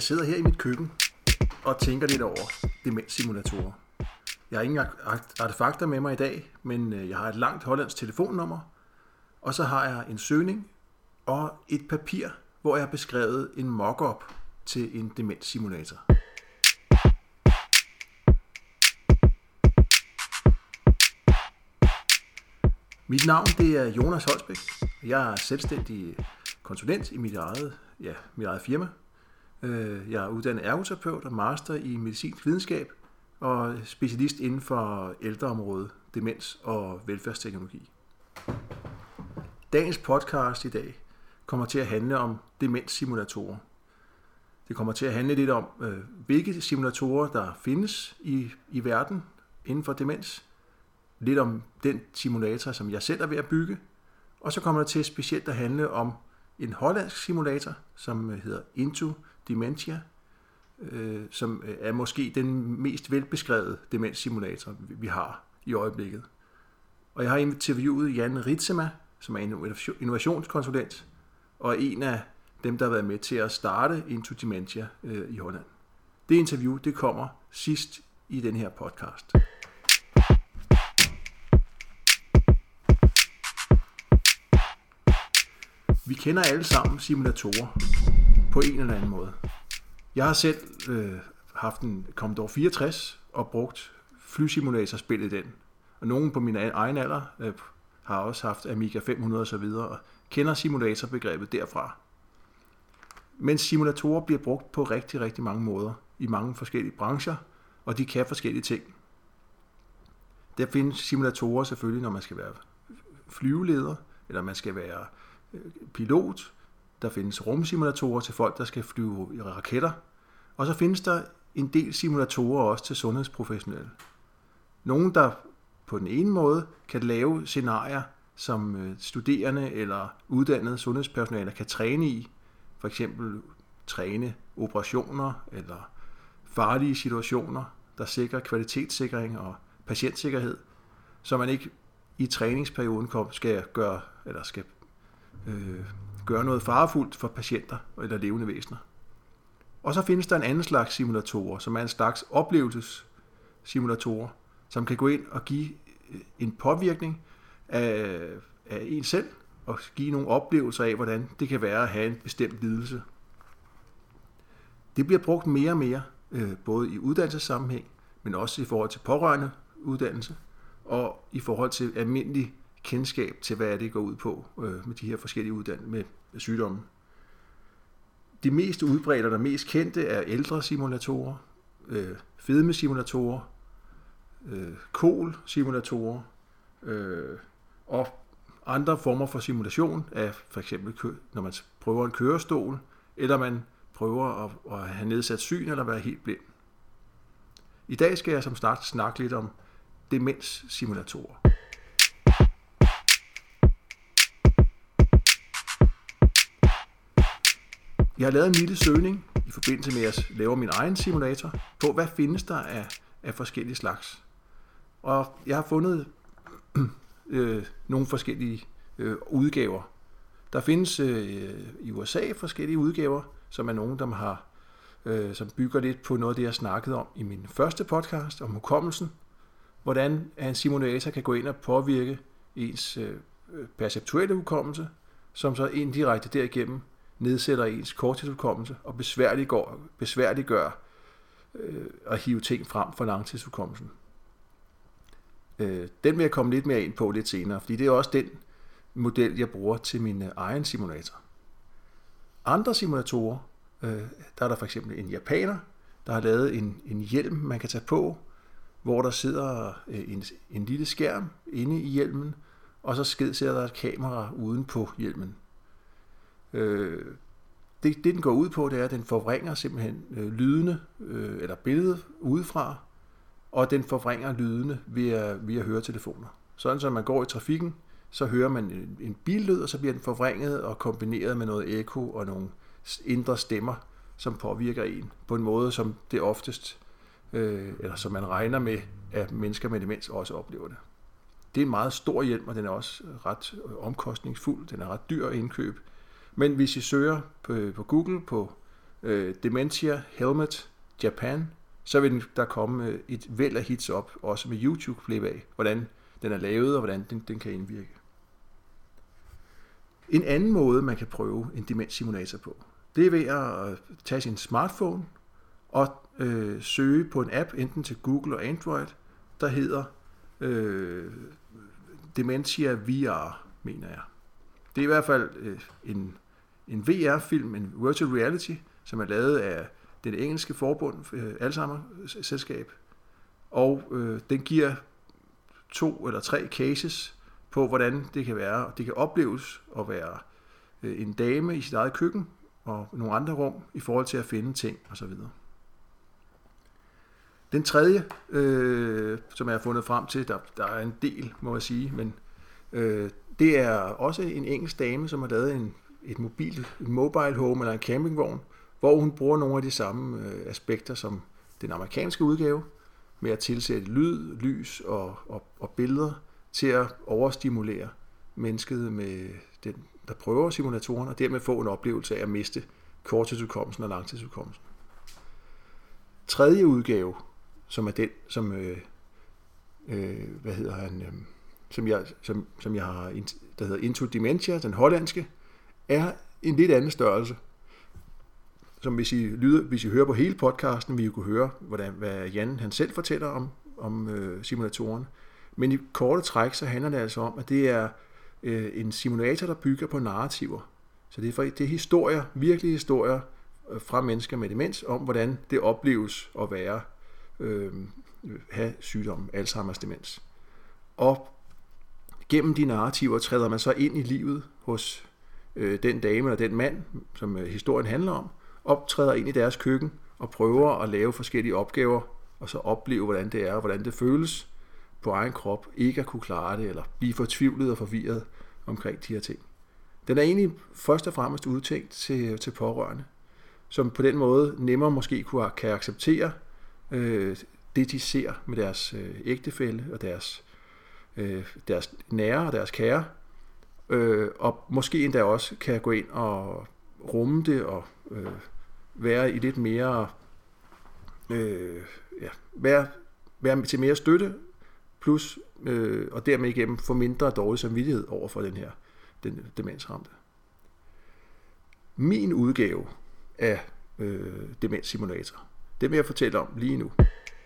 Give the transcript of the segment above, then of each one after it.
sidder her i mit køkken og tænker lidt over demenssimulatorer. Jeg har ingen artefakter med mig i dag, men jeg har et langt hollandsk telefonnummer, og så har jeg en søgning og et papir, hvor jeg har beskrevet en mock-up til en demenssimulator. Mit navn det er Jonas Holsbæk. Jeg er selvstændig konsulent i mit eget firma. Jeg er uddannet ergoterapeut og master i medicinsk videnskab og specialist inden for ældreområdet, demens og velfærdsteknologi. Dagens podcast i dag kommer til at handle om demenssimulatorer. Det kommer til at handle lidt om, hvilke simulatorer der findes i verden inden for demens. Lidt om den simulator, som jeg selv er ved at bygge. Og så kommer det til specielt at handle om en hollandsk simulator, som hedder Into Dementia, som er måske den mest velbeskrevede demenssimulator, vi har i øjeblikket. Og jeg har interviewet Jan Ritsema, som er en innovationskonsulent, og en af dem, der har været med til at starte Into Dementia i Holland. Det interview, det kommer sidst i den her podcast. Vi kender alle sammen simulatorer på en eller anden måde. Jeg har selv haft en Commodore 64 og brugt flysimulatorspil i den. Og nogen på min egen alder har også haft Amiga 500 og så videre og kender simulatorbegrebet derfra. Men simulatorer bliver brugt på rigtig, rigtig mange måder i mange forskellige brancher, og de kan forskellige ting. Der findes simulatorer selvfølgelig, når man skal være flyveleder, eller man skal være pilot. Der findes rumsimulatorer til folk, der skal flyve i raketter. Og så findes der en del simulatorer også til sundhedsprofessionelle. Nogle, der på den ene måde kan lave scenarier, som studerende eller uddannede sundhedspersonale kan træne i. For eksempel træne operationer eller farlige situationer, der sikrer kvalitetssikring og patientsikkerhed, så man ikke i træningsperioden skal gøre noget farefuldt for patienter eller levende væsener. Og så findes der en anden slags simulatorer, som er en slags oplevelsessimulatorer, som kan gå ind og give en påvirkning af en selv, og give nogle oplevelser af, hvordan det kan være at have en bestemt lidelse. Det bliver brugt mere og mere, både i uddannelsessammenhæng, men også i forhold til pårørende uddannelse, og i forhold til almindelig kendskab til, hvad det går ud på med de her forskellige uddannelser med sygdomme. De mest udbredte og de mest kendte er ældresimulatorer, fedmesimulatorer, KOL-simulatorer og andre former for simulation af for eksempel, når man prøver en kørestol, eller man prøver at have nedsat syn eller være helt blind. I dag skal jeg som start snakke lidt om demenssimulatorer. Jeg har lavet en lille søgning i forbindelse med, at jeg laver min egen simulator på, hvad findes der af forskellige slags. Og jeg har fundet nogle forskellige udgaver. Der findes i USA forskellige udgaver, som er nogle, som bygger lidt på noget af det, jeg snakkede om i min første podcast om hukommelsen. Hvordan en simulator kan gå ind og påvirke ens perceptuelle hukommelse, som så indirekte derigennem nedsætter ens korttidshukommelse og besværliggør at hive ting frem fra langtidshukommelsen. Den vil jeg komme lidt mere ind på lidt senere, fordi det er også den model, jeg bruger til min egen simulator. Andre simulatorer, der er der for eksempel en japaner, der har lavet en hjelm, man kan tage på, hvor der sidder en lille skærm inde i hjelmen, og så sidder der et kamera uden på hjelmen. Det den går ud på, det er, at den forvrænger simpelthen lydene eller billedet udefra, og den forvrænger lydene via høretelefoner. Sådan så man går i trafikken, så hører man en billyd, og så bliver den forvrænget og kombineret med noget ekko og nogle indre stemmer, som påvirker en på en måde, som det oftest, eller som man regner med, at mennesker med demens også oplever det. Det er en meget stor hjelm, og den er også ret omkostningsfuld. Den er ret dyr at indkøbe. Men hvis I søger på Google på Dementia Helmet Japan, så vil der komme et væld af hits op, også med YouTube-klip af, hvordan den er lavet, og hvordan den kan indvirke. En anden måde, man kan prøve en demenssimulator på, det er ved at tage sin smartphone og søge på en app, enten til Google og Android, der hedder Dementia VR, mener jeg. Det er i hvert fald en VR-film, en virtual reality, som er lavet af det engelske forbund, Alzheimer-selskab, og den giver 2 eller 3 cases på, hvordan det kan være. Det kan opleves at være en dame i sit eget køkken og nogle andre rum i forhold til at finde ting osv. Den tredje, som jeg har fundet frem til, der er en del, må jeg sige, men det er også en engelsk dame, som har lavet en mobile home eller en campingvogn, hvor hun bruger nogle af de samme aspekter som den amerikanske udgave, med at tilsætte lyd, lys og billeder til at overstimulere mennesket med den, der prøver simulatoren, og dermed få en oplevelse af at miste korttidsudkommelsen og langtidsudkommelsen. Tredje udgave, som er den, som jeg har, der hedder Into Dementia, den hollandske, er en lidt anden størrelse. Som hvis I hører på hele podcasten, vil I kunne høre, hvad Jan han selv fortæller om simulatoren. Men i korte træk, så handler det altså om, at det er en simulator, der bygger på narrativer. Så det er historier, virkelige historier fra mennesker med demens, om hvordan det opleves at være, have sygdommen Alzheimers demens. Og gennem de narrativer træder man så ind i livet hos den dame eller den mand, som historien handler om, optræder ind i deres køkken og prøver at lave forskellige opgaver, og så opleve, hvordan det er, og hvordan det føles på egen krop, ikke at kunne klare det, eller blive fortvivlet og forvirret omkring de her ting. Den er egentlig først og fremmest udtænkt til pårørende, som på den måde nemmere måske kan acceptere det, de ser med deres ægtefælle og deres nære og deres kære, og måske endda også kan gå ind og rumme det og være i lidt mere være til mere støtte, plus og dermed igennem få mindre dårlig samvittighed over for den demensramte. Min udgave af demenssimulator, det vil jeg fortælle om lige nu.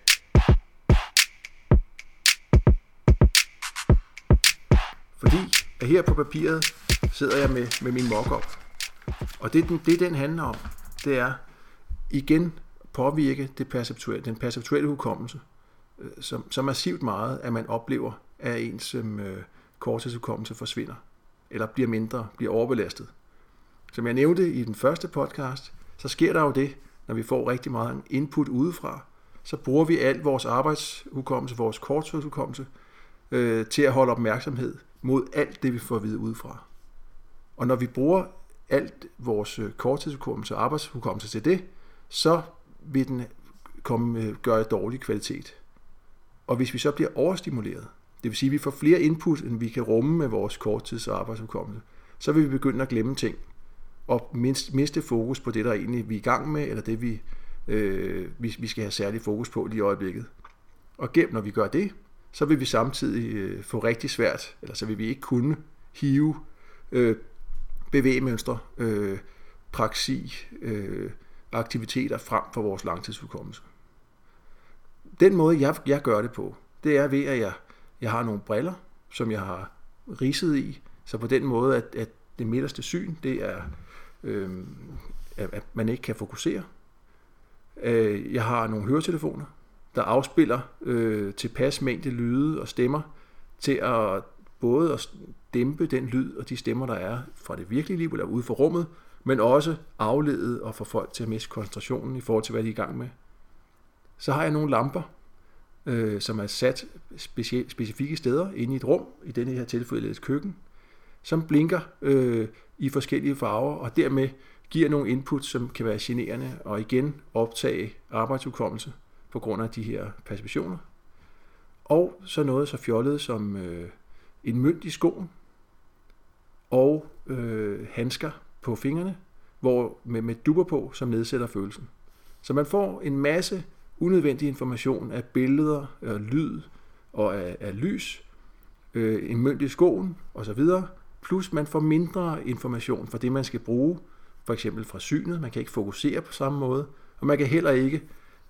Fordi at her på papiret sidder jeg med min mock-up. Og det den handler om, det er igen påvirke den perceptuelle hukommelse, så massivt meget, at man oplever, at ens korttidshukommelse forsvinder, eller bliver mindre, bliver overbelastet. Som jeg nævnte i den første podcast, så sker der jo det, når vi får rigtig meget input udefra, så bruger vi al vores arbejdshukommelse, vores korttidshukommelse, til at holde opmærksomhed mod alt det, vi får at vide udefra. Og når vi bruger alt vores korttidshukommelse og arbejdshukommelse til det, så vil den gøre dårlig kvalitet. Og hvis vi så bliver overstimuleret, det vil sige, at vi får flere input, end vi kan rumme med vores korttids- og arbejdshukommelse, så vil vi begynde at glemme ting, og miste fokus på det, der egentlig vi er i gang med, eller det, vi skal have særlig fokus på lige i øjeblikket. Og når vi gør det, så vil vi samtidig få rigtig svært, eller så vil vi ikke kunne hive bevægemønstre, praksi, aktiviteter frem for vores langtidshukommelse. Den måde, jeg gør det på, det er ved, at jeg har nogle briller, som jeg har ridset i, så på den måde, at det midterste syn, det er, at man ikke kan fokusere. Jeg har nogle høretelefoner, der afspiller tilpas mængde lyde og stemmer, til at både at dæmpe den lyd og de stemmer, der er fra det virkelige liv eller ude for rummet, men også aflede og få folk til at miste koncentrationen i forhold til, hvad de er i gang med. Så har jeg nogle lamper, som er sat specifikke steder inde i et rum, i denne her tilfælde et køkken, som blinker i forskellige farver, og dermed giver nogle input, som kan være generende, og igen optage arbejdshukommelse på grund af de her perceptioner. Og så noget så fjollet som en mønt i skoen, og handsker på fingrene, hvor med dupper på, som nedsætter følelsen. Så man får en masse unødvendig information af billeder, af lyd og af lys, en mønt i skoen osv., plus man får mindre information fra det, man skal bruge, for eksempel fra synet. Man kan ikke fokusere på samme måde, og man kan heller ikke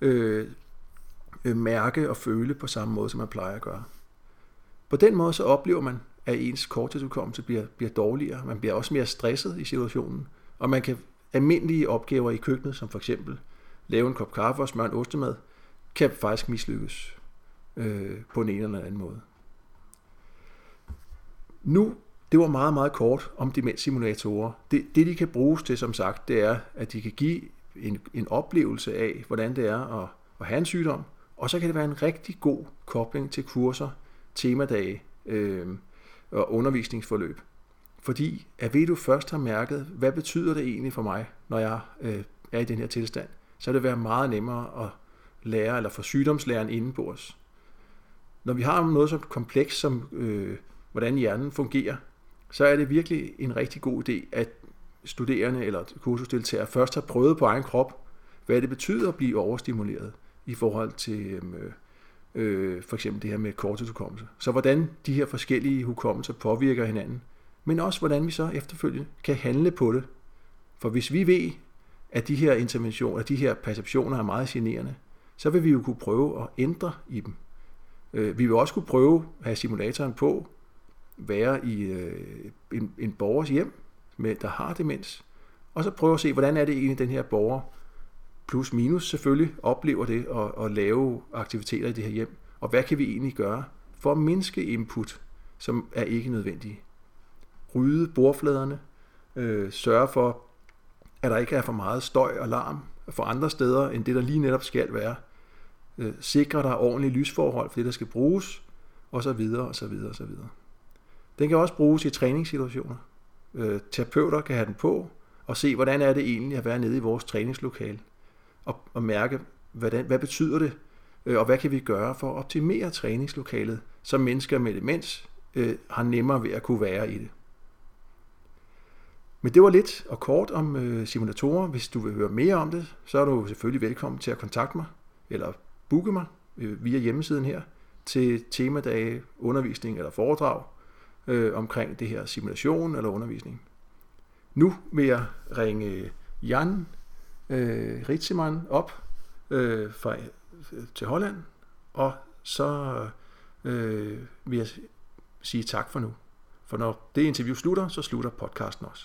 mærke og føle på samme måde, som man plejer at gøre. På den måde så oplever man, at ens korttidshukommelse bliver dårligere. Man bliver også mere stresset i situationen, og man kan almindelige opgaver i køkkenet, som for eksempel lave en kop kaffe og smøre en ostemad, kan faktisk mislykkes på en eller anden måde. Nu, det var meget, meget kort om demenssimulatorer. Det de kan bruges til, som sagt, det er, at de kan give en oplevelse af, hvordan det er at have en sygdom, og så kan det være en rigtig god kobling til kurser, temadage og undervisningsforløb. Fordi at ved du først har mærket, hvad betyder det egentlig for mig, når jeg er i den her tilstand, så vil det være meget nemmere at lære, eller få sygdomslæren indenbords. Når vi har noget så komplekst som, hvordan hjernen fungerer, så er det virkelig en rigtig god idé, at studerende eller kursusdeltagere først har prøvet på egen krop, hvad det betyder at blive overstimuleret i forhold til for eksempel det her med korttidshukommelse. Så hvordan de her forskellige hukommelser påvirker hinanden, men også hvordan vi så efterfølgende kan handle på det. For hvis vi ved, at de her interventioner, de her perceptioner er meget generende, så vil vi jo kunne prøve at ændre i dem. Vi vil også kunne prøve at have simulatoren på, være i en borgers hjem, der har demens, og så prøve at se, hvordan er det egentlig, den her borger, plus minus selvfølgelig, oplever det og lave aktiviteter i det her hjem, og hvad kan vi egentlig gøre for at mindske input, som er ikke nødvendige. Rydde bordfladerne, sørge for, at der ikke er for meget støj og larm for andre steder, end det der lige netop skal være. Sikre der ordentlige lysforhold for det, der skal bruges, og så videre, og så videre, og så videre. Den kan også bruges i træningssituationer. Terapeuter kan have den på, og se, hvordan er det egentlig at være nede i vores træningslokale, og mærke, hvad betyder det, og hvad kan vi gøre for at optimere træningslokalet, så mennesker med demens har nemmere ved at kunne være i det. Men det var lidt og kort om simulatorer. Hvis du vil høre mere om det, så er du selvfølgelig velkommen til at kontakte mig, eller booke mig via hjemmesiden her, til temadage, undervisning eller foredrag omkring det her simulation eller undervisning. Nu vil jeg ringe Jan Ritzemann op til Holland, og så vil jeg sige tak for nu. For når det interview slutter, så slutter podcasten også.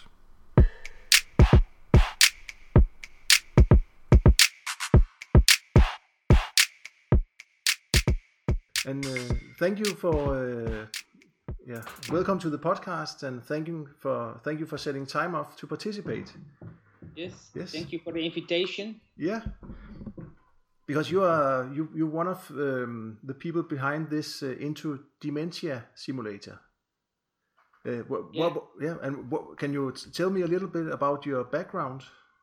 And thank you for welcome to the podcast, and thank you for setting time off to participate. Yes. Thank you for the invitation. Yeah, because you're one of the people behind this Into Dementia simulator. Can you tell me a little bit about your background?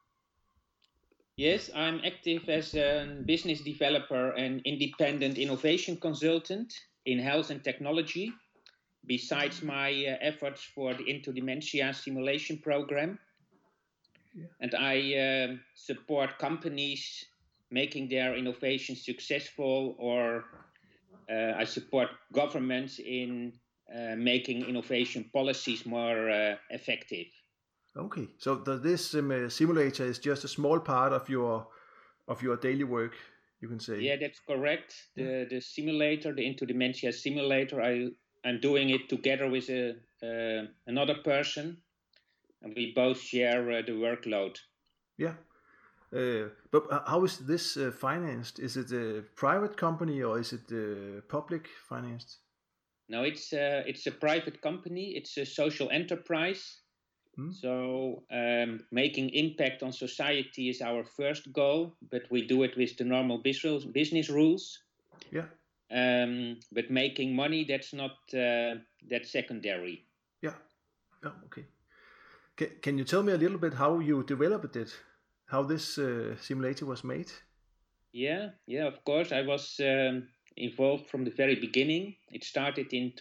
Yes, I'm active as a business developer and independent innovation consultant in health and technology, besides my efforts for the Into Dementia simulation program. Yeah. And I support companies making their innovation successful, or I support governments in making innovation policies more effective. Okay, so this simulator is just a small part of your daily work, you can say. Yeah, that's correct. The simulator, the Into Dementia simulator, I'm doing it together with another person, and we both share the workload. Yeah, but how is this financed? Is it a private company or is it public financed? No, it's a private company. It's a social enterprise. So making impact on society is our first goal, but we do it with the normal business rules. Yeah. But making money, that's not that's secondary. Yeah. Okay. Can you tell me a little bit how you developed it? How this simulator was made? Yeah, of course. I was involved from the very beginning. It started in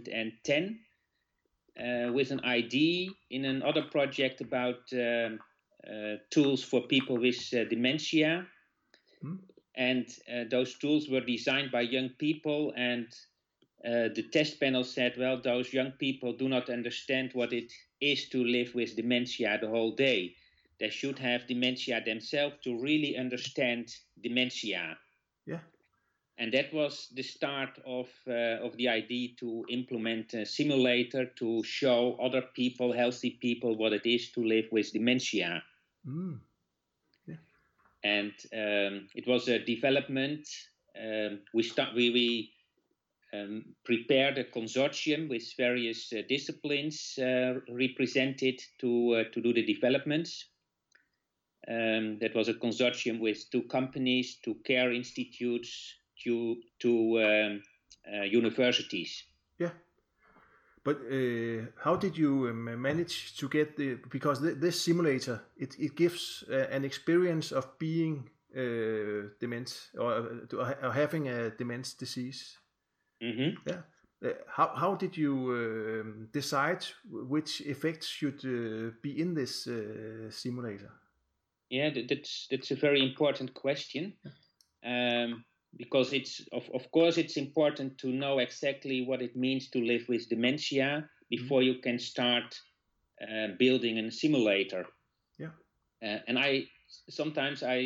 2010. With an idea in another project about tools for people with dementia. And those tools were designed by young people, and the test panel said, well, those young people do not understand what it is to live with dementia the whole day. They should have dementia themselves to really understand dementia. Yeah. And that was the start of the idea to implement a simulator to show other people, healthy people, what it is to live with dementia. Yeah. And it was a development. We prepared a consortium with various disciplines represented to do the developments. That was a consortium with 2 companies, 2 care institutes, 2 universities. Yeah. But how did you manage to get because this simulator, it gives an experience of being dement or having a dementia disease. Mm-hmm. Yeah. How did you decide which effects should be in this simulator? Yeah, that's a very important question, because it's of course it's important to know exactly what it means to live with dementia before you can start building a simulator. Yeah. And sometimes I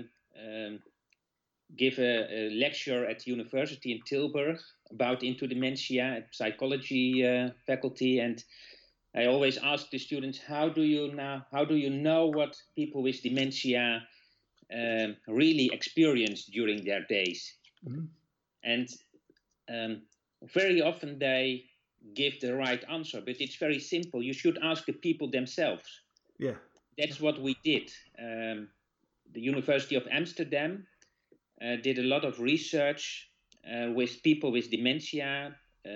give a lecture at university in Tilburg about into dementia at psychology faculty, and I always ask the students, how do you know what people with dementia really experience during their days? And very often they give the right answer, but it's very simple. You should ask the people themselves. Yeah. That's what we did. The University of Amsterdam did a lot of research with people with dementia,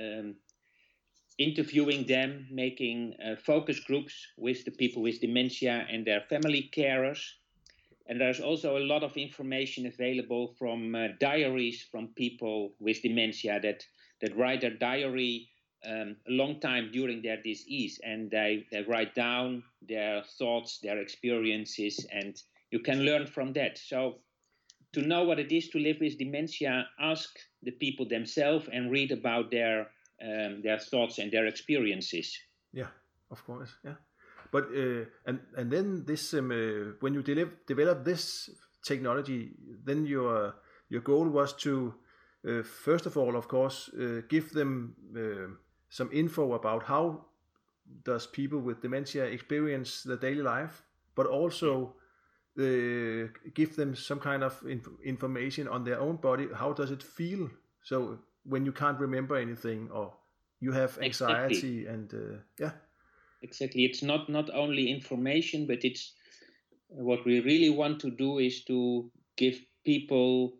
interviewing them, making focus groups with the people with dementia and their family carers. And there's also a lot of information available from diaries from people with dementia that write their diary a long time during their disease, and they write down their thoughts, their experiences, and you can learn from that. So to know what it is to live with dementia, ask the people themselves and read about their thoughts and their experiences. Yeah, of course. Yeah, but and then this when you develop this technology, then your goal was to first of all, of course, give them some info about how does people with dementia experience their daily life, but also give them some kind of information on their own body. How does it feel? So when you can't remember anything or you have anxiety. Exactly. And yeah. Exactly. It's not only information, but it's what we really want to do is to give people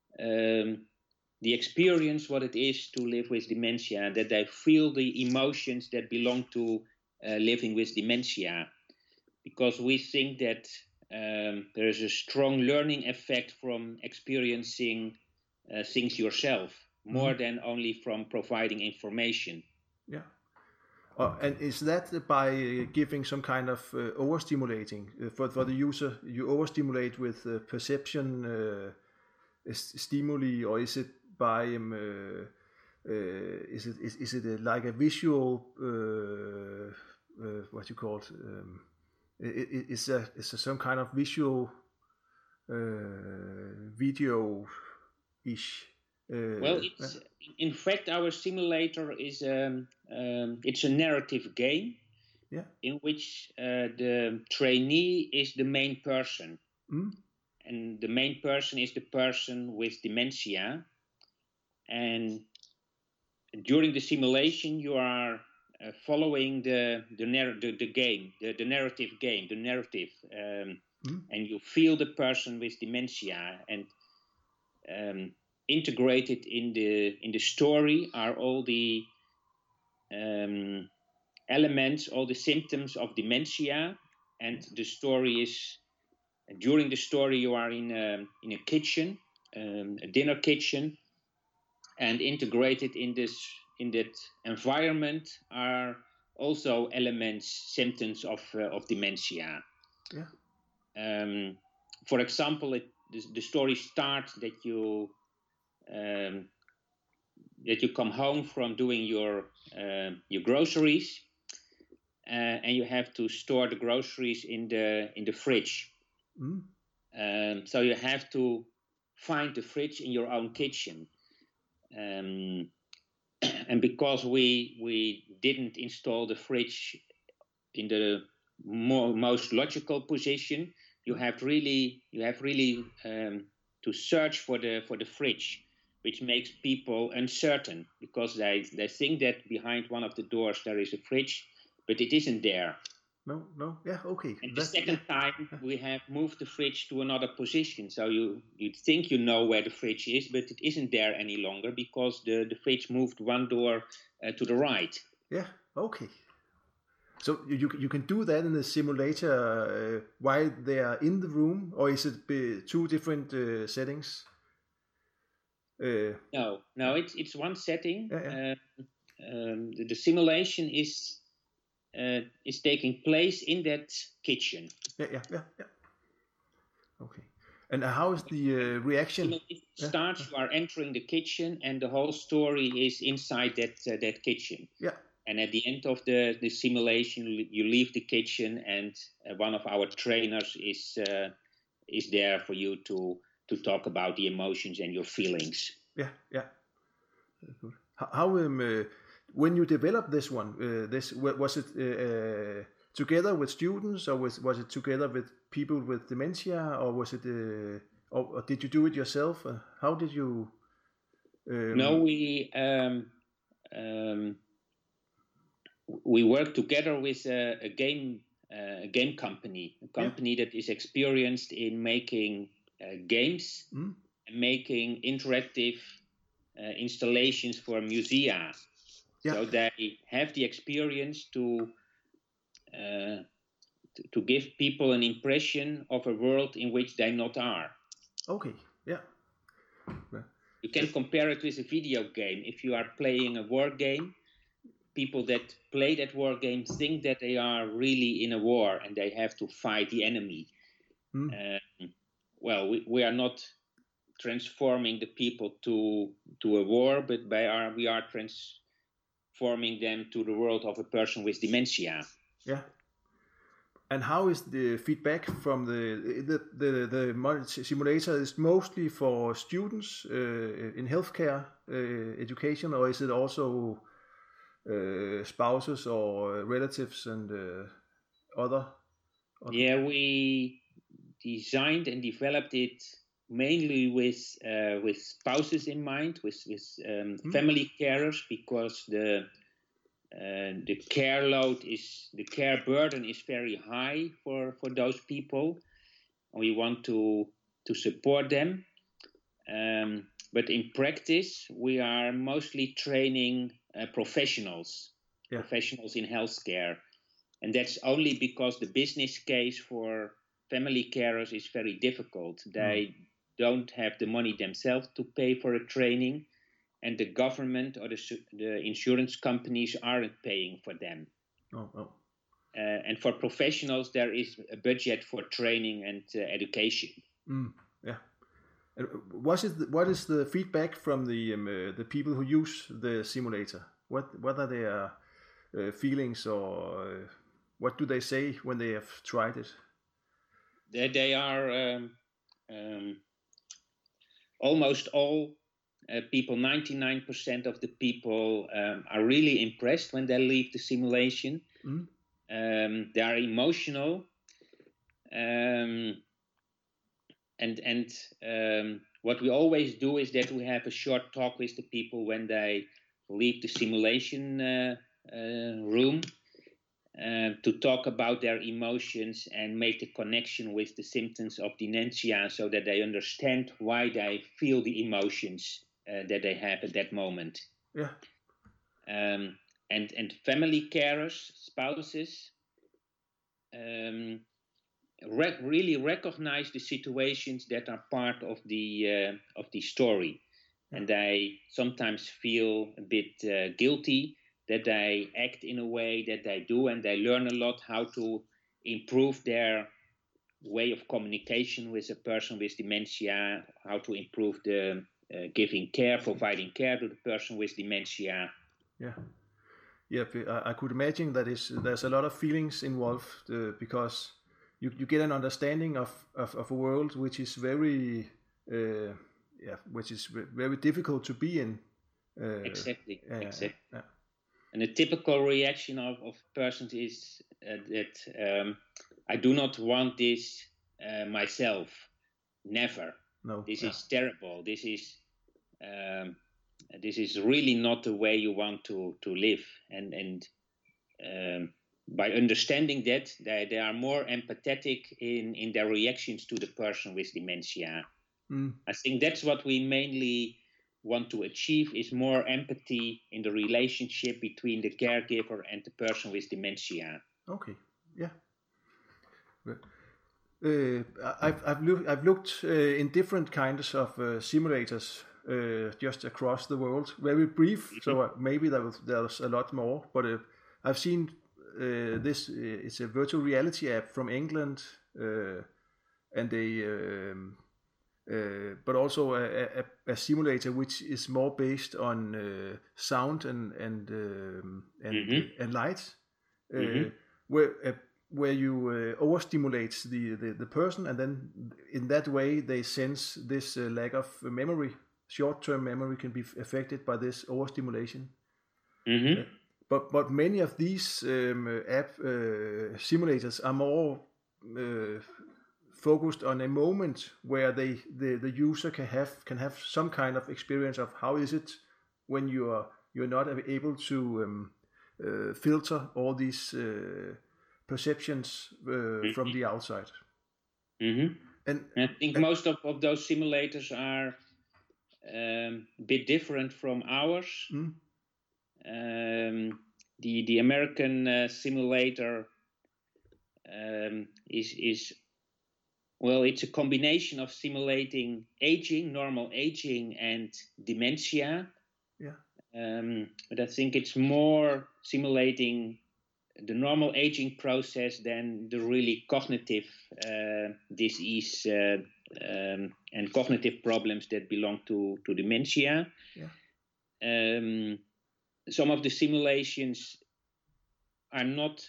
the experience what it is to live with dementia, that they feel the emotions that belong to living with dementia, because we think that there is a strong learning effect from experiencing things yourself, more than only from providing information. Yeah. And is that by giving some kind of overstimulating for the user? You overstimulate with perception stimuli, or is it by is it like a visual what you call it? Is there some kind of visual video-ish? Well, it's in fact our simulator is it's a narrative game, yeah, in which the trainee is the main person, and the main person is the person with dementia, and during the simulation you are following the narrative, and you feel the person with dementia, and integrated in the story are all the elements, all the symptoms of dementia. And the story is, during the story you are in a kitchen, a dinner kitchen, and integrated in that environment are also elements, symptoms of dementia. Yeah. For example, the story starts that you come home from doing your groceries, and you have to store the groceries in the fridge. So you have to find the fridge in your own kitchen. And because we didn't install the fridge in the most logical position, you have really to search for the fridge, which makes people uncertain, because they think that behind one of the doors there is a fridge, but it isn't there. No, yeah, okay. And the second time we have moved the fridge to another position, so you think you know where the fridge is, but it isn't there any longer because the fridge moved one door to the right. Yeah, okay. So you can do that in the simulator while they are in the room, or is it two different settings? No, it's one setting. Yeah. The simulation is taking place in that kitchen. Yeah. Okay. And how is the reaction? It starts, you are entering the kitchen, and the whole story is inside that kitchen. Yeah. And at the end of the simulation, you leave the kitchen, and one of our trainers is there for you to talk about the emotions and your feelings. Yeah. Very good. How when you developed this one, was it together with students, or was it together with people with dementia, or was it or did you do it yourself? How did you? No, we work together with a game company, that is experienced in making games and making interactive installations for musea. Yeah. So they have the experience to give people an impression of a world in which they not are. Okay, yeah. You can compare it with a video game. If you are playing a war game, people that play that war game think that they are really in a war and they have to fight the enemy. Well, we are not transforming the people to a war, but we are transforming them to the world of a person with dementia. Yeah. And how is the feedback from the simulator? Is mostly for students in healthcare education, or is it also spouses or relatives and other? Yeah, we designed and developed it mainly with spouses in mind, with family carers, because the care burden is very high for those people. We want to support them, but in practice we are mostly training professionals in healthcare, and that's only because the business case for family carers is very difficult. They don't have the money themselves to pay for a training, and the government or the insurance companies aren't paying for them. And for professionals, there is a budget for training and education. Yeah. And what is the feedback from the people who use the simulator? What are their feelings, or what do they say when they have tried it? They are almost all people, 99% of the people are really impressed when they leave the simulation. They are emotional, and what we always do is that we have a short talk with the people when they leave the simulation room, to talk about their emotions and make the connection with the symptoms of dementia, so that they understand why they feel the emotions that they have at that moment. Yeah. And family carers, spouses, really recognize the situations that are part of the story, and they sometimes feel a bit guilty that they act in a way that they do, and they learn a lot how to improve their way of communication with a person with dementia, how to improve the giving care, providing care to the person with dementia. Yeah. Yeah, I could imagine that there's a lot of feelings involved because you get an understanding of a world which is very very difficult to be in. Exactly. Yeah. And a typical reaction of persons is that I do not want this myself. Never. No. This is terrible. This is really not the way you want to live. And by understanding that, they are more empathetic in their reactions to the person with dementia. I think that's what we mainly want to achieve, is more empathy in the relationship between the caregiver and the person with dementia. Okay, yeah. I've looked in different kinds of simulators just across the world. Very brief, so maybe there's a lot more. But I've seen this. It's a virtual reality app from England, and they. But also a simulator which is more based on sound and light, where you overstimulate the person, and then in that way they sense this lack of memory. Short-term memory can be affected by this overstimulation. But many of these app simulators are more focused on a moment where the user can have some kind of experience of how is it when you're not able to filter all these perceptions from the outside. And I think most of those simulators are a bit different from ours. The American simulator is well, it's a combination of simulating aging, normal aging, and dementia. Yeah. But I think it's more simulating the normal aging process than the really cognitive disease and cognitive problems that belong to dementia. Yeah. Some of the simulations are not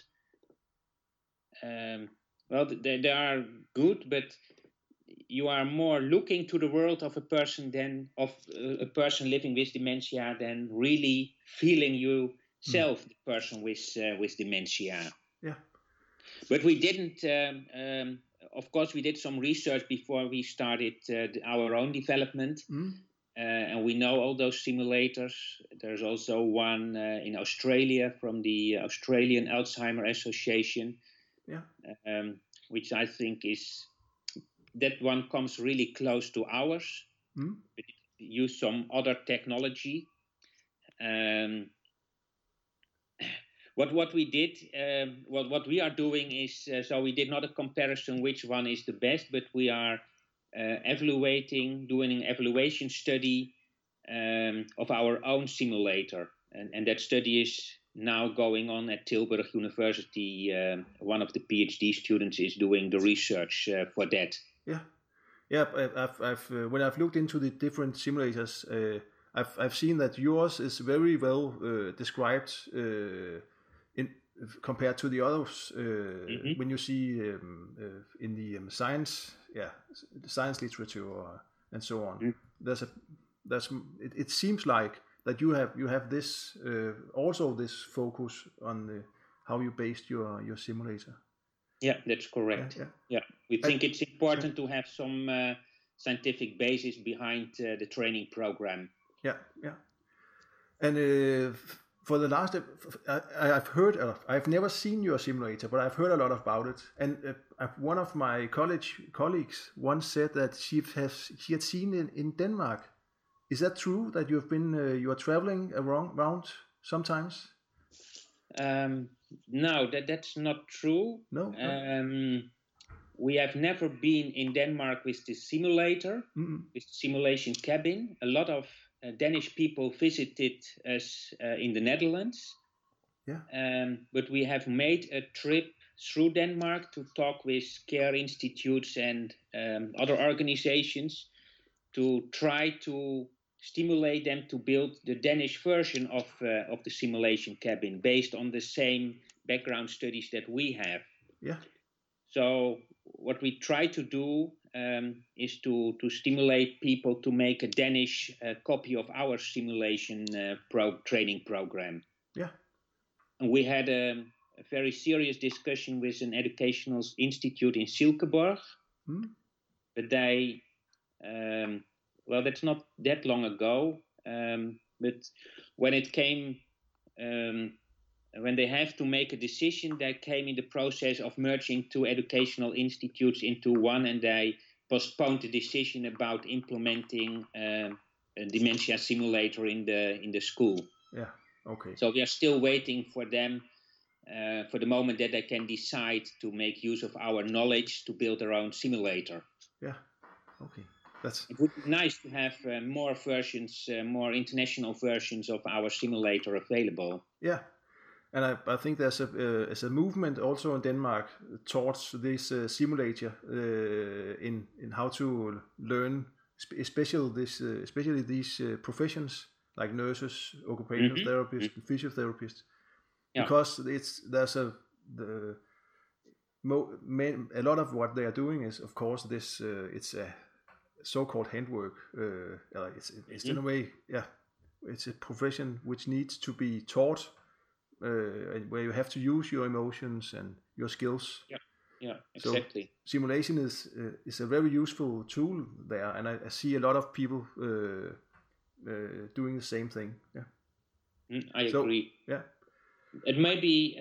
well, they are good, but you are more looking to the world of a person than of a person living with dementia than really feeling yourself, the person with dementia. Yeah. But we didn't. Of course, we did some research before we started our own development, and we know all those simulators. There's also one in Australia from the Australian Alzheimer Association. Yeah. Which I think that one comes really close to ours. But it use some other technology. What we did, what we are doing is, so we did not a comparison which one is the best, but we are doing an evaluation study of our own simulator, and that study is now going on at Tilburg University. One of the PhD students is doing the research for that. Yeah. I've when I've looked into the different simulators, I've seen that yours is very well described in compared to the others. When you see in the science literature and so on, it seems like that you have this also this focus on how you based your simulator. Yeah, that's correct. Yeah. We think it's important to have some scientific basis behind the training program. Yeah. And for the last, I've never seen your simulator, but I've heard a lot about it. And one of my colleagues once said that she had seen it in Denmark. Is that true that you are traveling around sometimes? No, that's not true. No. We have never been in Denmark with the simulator, with the simulation cabin. A lot of Danish people visited us in the Netherlands. Yeah. But we have made a trip through Denmark to talk with care institutes and other organizations to try to stimulate them to build the Danish version of the simulation cabin based on the same background studies that we have. Yeah. So what we try to do is to stimulate people to make a Danish copy of our simulation training program. Yeah. And we had a very serious discussion with an educational institute in Silkeborg. But they, well, that's not that long ago. But when it came, when they have to make a decision, they came in the process of merging two educational institutes into one, and they postponed the decision about implementing a dementia simulator in the school. Yeah. Okay. So we are still waiting for them for the moment that they can decide to make use of our knowledge to build their own simulator. Yeah. Okay. It would be nice to have more versions, more international versions of our simulator available. Yeah. And I think there's a movement also in Denmark towards this simulator in how to learn, especially these professions like nurses, occupational therapists, and physiotherapists, because there's a lot of what they are doing is, of course, this it's a so-called handwork. It's in a way, it's a profession which needs to be taught. Where you have to use your emotions and your skills. Yeah, exactly. So simulation is a very useful tool there, and I see a lot of people doing the same thing. Yeah, I agree. Yeah, it may be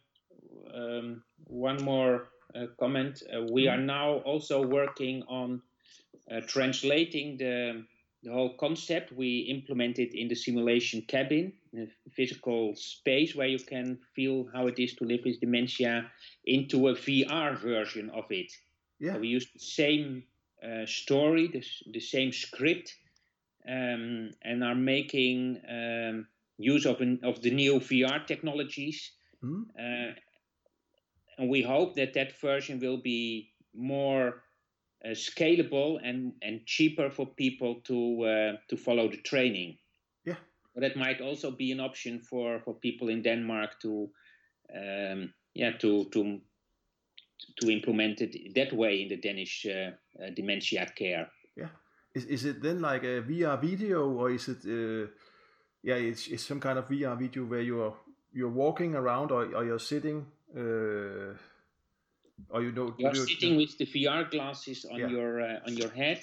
one more comment. We are now also working on translating the whole concept we implemented in the simulation cabin, a physical space where you can feel how it is to live with dementia, into a VR version of it. Yeah. So we used the same story, the same script, and are making use of the new VR technologies. And we hope that version will be more scalable and cheaper for people to follow the training. Yeah, but that might also be an option for people in Denmark to implement it that way in the Danish dementia care. Yeah, is it then like a VR video, or is it? It's some kind of VR video where you're walking around, or you're sitting. Or you're sitting with the VR glasses on your head,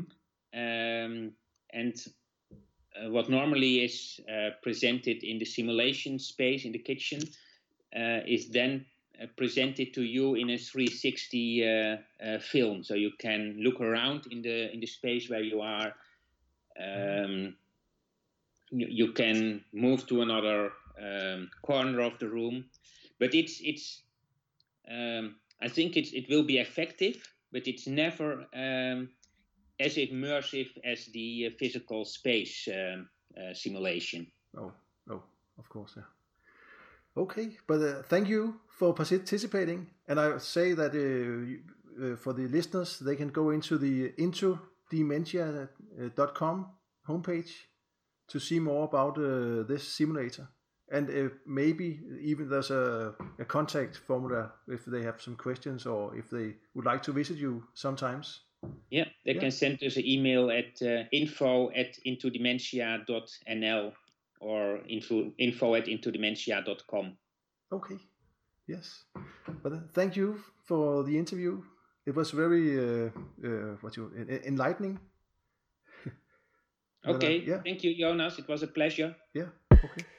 and what normally is presented in the simulation space in the kitchen is then presented to you in a 360 film, so you can look around in the space where you are. You can move to another corner of the room, but it's. I think it will be effective, but it's never as immersive as the physical space simulation. Oh, of course, yeah. Okay, but thank you for participating, and I say that for the listeners, they can go into the intodementia.com homepage to see more about this simulator. And maybe even there's a contact formula if they have some questions, or if they would like to visit you sometimes. Yeah, they can send us an email at info@intodementia.nl or info@intodementia.com. Okay, yes. But thank you for the interview. It was very enlightening. Okay, thank you, Jonas. It was a pleasure. Yeah, okay.